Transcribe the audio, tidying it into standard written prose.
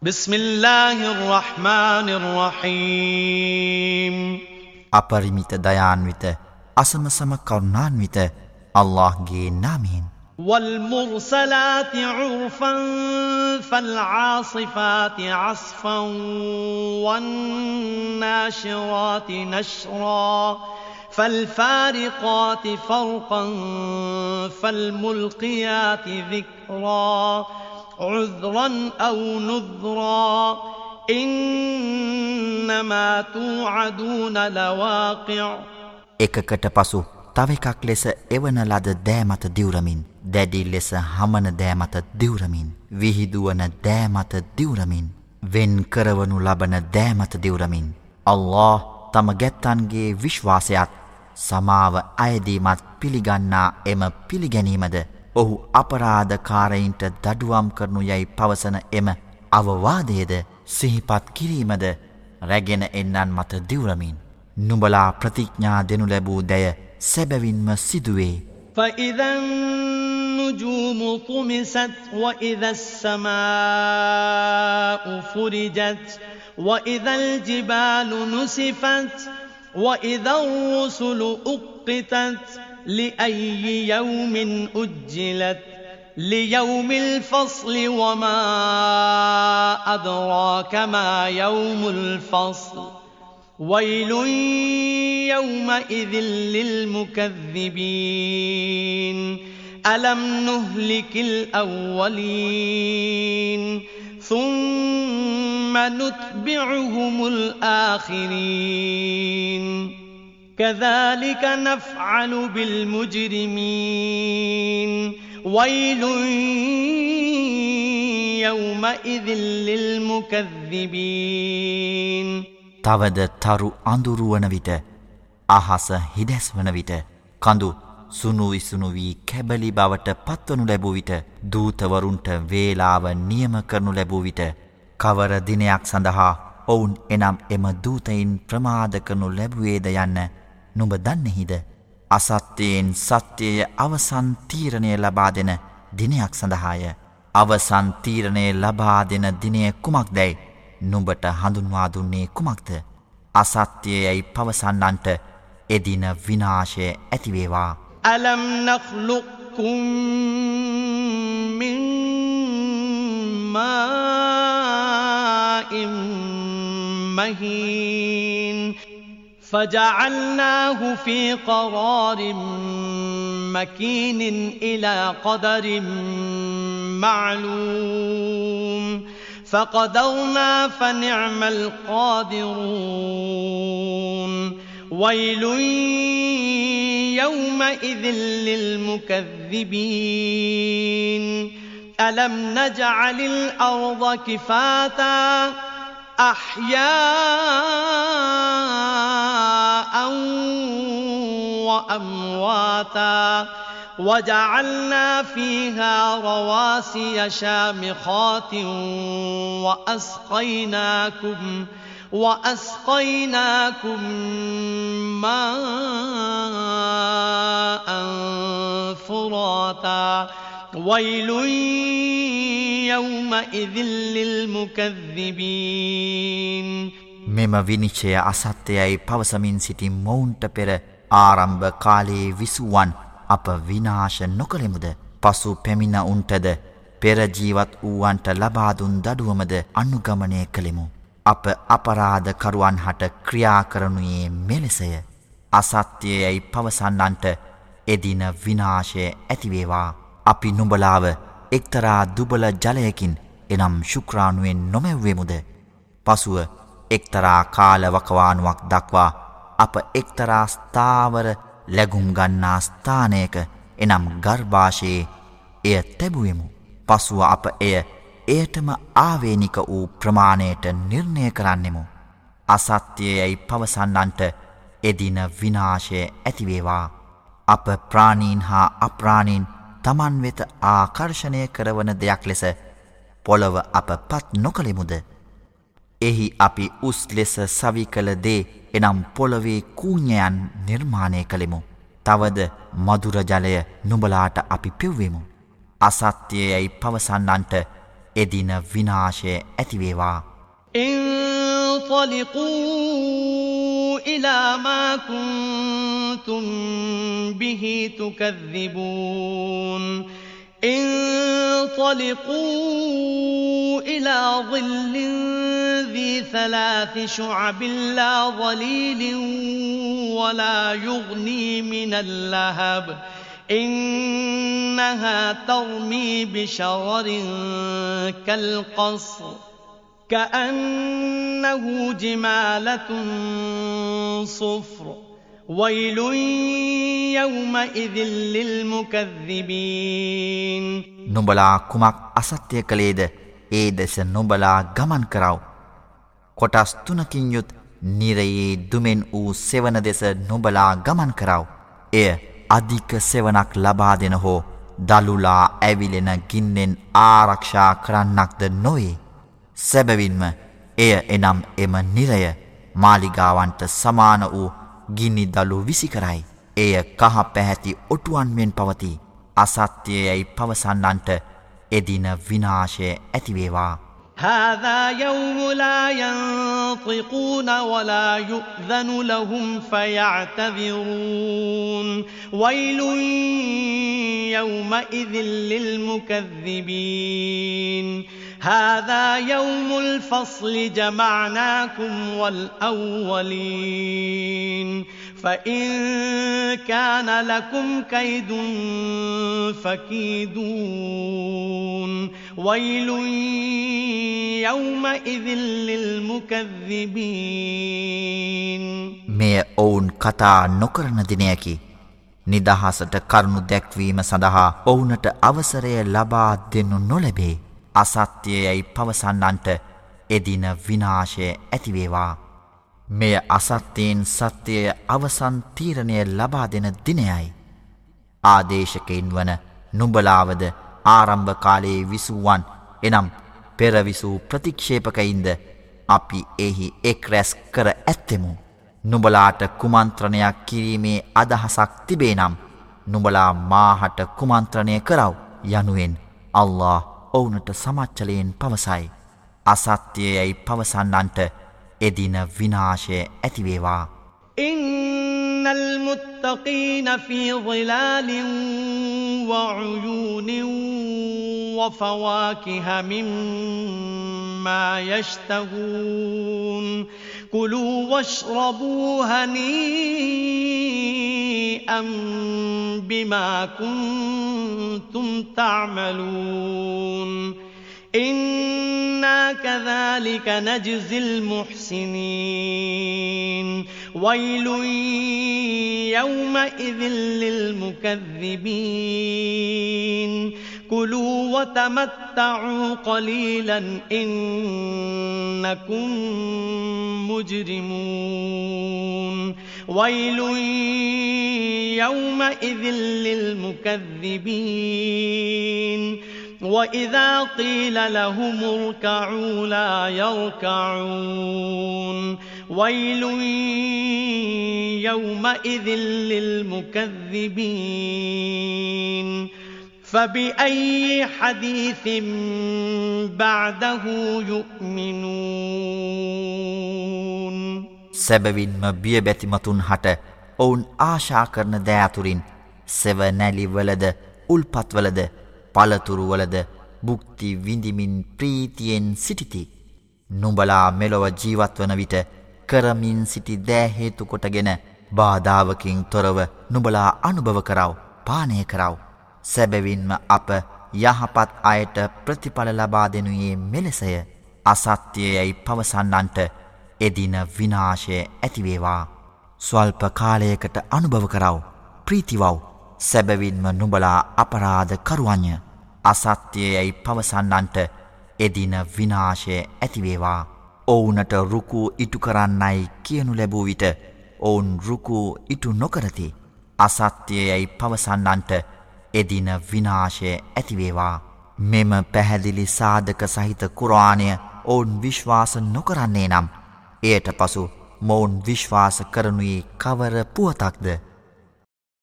بسم الله الرحمن الرحيم අපරිමිත දයාන්විත අසමසම කරුණාන්විත අල්ලාහ්ගේ නාමයෙන් والمرسلات عرفا فالعاصفات عصفا والناشرات نشرا فالفارقات فرقا فالملقيات ذكرا عذرا أو نذرا إنما توعدون لواقع එකකට පසු තව එකක් ලෙස එවන ලද දෑ මත දිවුරමින් දැඩි ලෙස හමන දෑ මත දිවුරමින් විහිදුවන දෑ මත දිවුරමින් වෙන් කරවනු ලබන දෑ මත දිවුරමින් අල්ලාහ් තම ගැත්තන්ගේ විශ්වාසයත් සමාව අයදීමත් පිළිගන්නා එම පිළිගැනීමද ඔහු අපරාධකාරයින්ට දඩුවම් කරනු යයි පවසන එම අවවාදයේද සිහිපත් කිරීමද රැගෙන එන්නන් මත දිවුරමින් නුඹලා ප්‍රතිඥා දෙනු ලැබූ දැය සැබවින්ම සිදුවේ. فإذا النجوم طمست وإذا السماء فرجت وإذا الجبال نسفت وإذا الرسل أقتت لأي يوم أجلت ليوم الفصل وما أدراك ما يوم الفصل ويل يومئذ للمكذبين ألم نهلك الأولين ثم نتبعهم الآخرين كذلك نفعل بالمجرمين ويل يومئذ للمكذبين තවද තරු අඳුරු වන විට අහස හිදැස් වන විට කඳු සුණු විසුණු වී කැබලි බවට පත්වනු ලැබූ විට දූතවරුන්ට වේලාව නියම කරනු ලැබූ විට කවර දිනයක් සඳහා ඔවුන් එනම් එම දූතයින් ප්‍රමාද කරනු ලැබුවේද යන්න නුඹ දන්නේහිද අසත්‍යයෙන් සත්‍යය අවසන් තීරණය ලබා දෙන දිනයක් සඳහාය අවසන් තීරණය ලබා දෙන දිනය කුමක්දැයි නුඹට හඳුන්වා දුන්නේ කුමක්ද අසත්‍යයයි පවසන්නන්ට එදින විනාශය ඇතිවේවා ألم نخلقكم من ماء مهين فجعلناه في قرار مكين إلى قدر معلوم فقدرنا فنعم القادرون ويل يومئذ للمكذبين ألم نجعل الأرض كفاتا أحياء وأمواتا وجعلنا فيها رواسي شامخات وأسقيناكم ماء فراتا ويل يومئذ للمكذبين මෙම විනිශ්චය අසත්‍යයයි පවසමින් සිටි මොවුන්ට පෙර ආරම්භ කාලයේ විසුවන් අප විනාශ නොකළෙමුද පසු පැමිණ උන්ටද පෙර ජීවත් වූවන්ට ලබා දුන් දඩුවමද අනුගමනය කළෙමු අප අපරාධ කරුවන් හට ක්‍රියා කරනුයේ මෙලෙසය අසත්‍යයයි පවසන්නන්ට එදින විනාශය ඇතිවේවා අපි නුඹලාව එක්තරා දුබල ජලයකින් එනම් ශුක්‍රාණුවෙන් නොමැව්වෙමුද පසුව එක්තරා කාලවකවානුවක් දක්වා අප එක්තරා ස්ථාවර ලැගුම් ගන්නා ස්ථානයක එනම් ගර්භාෂයේ එය තැබුවෙමු පසුව අප එයටම ආවේනික වූ ප්‍රමාණයට නිර්ණය කරන්නෙමු අසත්‍යයයි පවසන්නන්ට එදින විනාශය ඇතිවේවා අප ප්‍රාණීන් හා අප්‍රාණීන් තමන් වෙත ආකර්ෂණය කරවන දෙයක් ලෙස පොළව අප පත් නොකළෙමුද එහි අපි උස් ලෙස සවි කළ දේ එනම් පොළවේ කූඤ්ඤයන් නිර්මාණය කළෙමු තවද මధుර ජලය නුඹලාට අපි පෙව්වෙමු අසත්‍යයයි පවසන්නන්ට එදින විනාශය ඇතිවේවා. انطلقوا إلى ما كنتم به تكذبون انطلقوا إلى ظل ذي 3 شعب لا ظليل ولا يغني من اللهب إنها ترمي بشرر كالقصر كأنه جمالة صفر ويل يومئذ للمكذبين නුඹලා කුමක් අසත්‍ය කළේද ඒ දෙස නුඹලා ගමන් කරව. කොටස් 3කින් යුත් නිරයේ දුමෙන් වූ සෙවන දෙස නුඹලා ගමන් කරව. එය අධික සෙවනක් ලබා දෙන හෝ දලුලා ඇවිලෙන ගින්නෙන් ආරක්ෂා කරන්නක්ද නොවේ. සැබවින්ම එය එනම් එම නිරය මාලිගාවන්ට සමාන වූ ගිනි දළු විසි කරයි. එය කහ පැහැති ඔටුවන් මෙන් පවතී. අසත්‍යයයි පවසන්නන්ට එදින විනාශය ඇතිවේවා. هذا يوم لا ينطقون ولا يؤذن لهم فيعتذرون ويل يومئذ للمكذبين هذا يوم الفصل جمعناكم والأولين فإن كان لكم كيد فكيدون ويل يومئذ للمكذبين මෙය ඔවුන් කතා නොකරන දිනයකි. නිදහසට කරුණු දැක්වීම සඳහා ඔවුනට අවසරය ලබා දෙනු නොලැබේ. අසත්‍යයයි පවසන්නන්ට එදින විනාශය ඇතිවේවා. මෙය අසත්‍යයෙන් සත්‍යය අවසන් තීරණය ලබා දෙන දිනයයි. ආදේශකයින් වන නුඹලාවද ආරම්භ කාලයේ විසුවන් එනම් පෙරවිසූ ප්‍රතික්ෂේපකයින්ද අපි එහි එක් රැස් කර ඇත්තෙමු. නුඹලාට කුමන්ත්‍රණයක් කිරීමේ අදහසක් තිබේ නම් නුඹලා මාහට කුමන්ත්‍රණය කරව යනුවෙන් අල්ලාහ් ඔවුනට සමච්චලයෙන් පවසයි. අසත්‍යයයි පවසන්නන්ට එදින විනාශය ඇතිවේවා. إن المتقين في ظلال وعيون وفواكه مما يشتهون كلوا واشربوا هنيئا بما كنتم تعملون إنا كذلك نجزي المحسنين ويل يومئذ للمكذبين كلوا وتمتعوا قليلا إنكم مجرمون ويل يومئذ للمكذبين وإذا قيل لهم اركعوا لا يركعون ويل يومئذ للمكذبين فبأي حديث بعده يؤمنون සැබවින්ම බියබැතිමතුන් හට ඔවුන් ආශා කරන දෑ අතුරින් සෙවනැලිවලද උල්පත්වලද පළතුරුවලද බුක්ති විඳිමින් ප්‍රීතියෙන් සිටිති. නුඹලා මෙලොව ජීවත්වන විට කරමින් සිටි දෑ හේතු කොටගෙන බාධාවකින් තොරව නුඹලා අනුභව කරව, පානය කරව. සැබවින්ම අප යහපත් අයට ප්‍රතිඵල ලබා දෙනුයේ මෙලෙසය. අසත්‍යයයි පවසන්නන්ට එදින විනාශය ඇතිවේවා. ස්වල්ප කාලයකට අනුභව කරව, ප්‍රීතිවව්. සැබවින්ම නුඹලා අපරාධ කරුවන්ය. අසත්‍යයයි පවසන්නන්ට එදින විනාශය ඇතිවේවා. ඔවුනට රුකූ ඉටු කරන්නයි කියනු ලැබූ විට ඔවුන් රුකූ ඉටු නොකරති. අසත්‍යයයි පවසන්නන්ට එදින විනාශය ඇතිවේවා. මෙම පැහැදිලි සාධක සහිත කුර්ආනය ඔවුන් විශ්වාස නොකරන්නේ නම් එයට පසු මොවුන් විශ්වාස කරනුයේ කවර පුවතක්ද?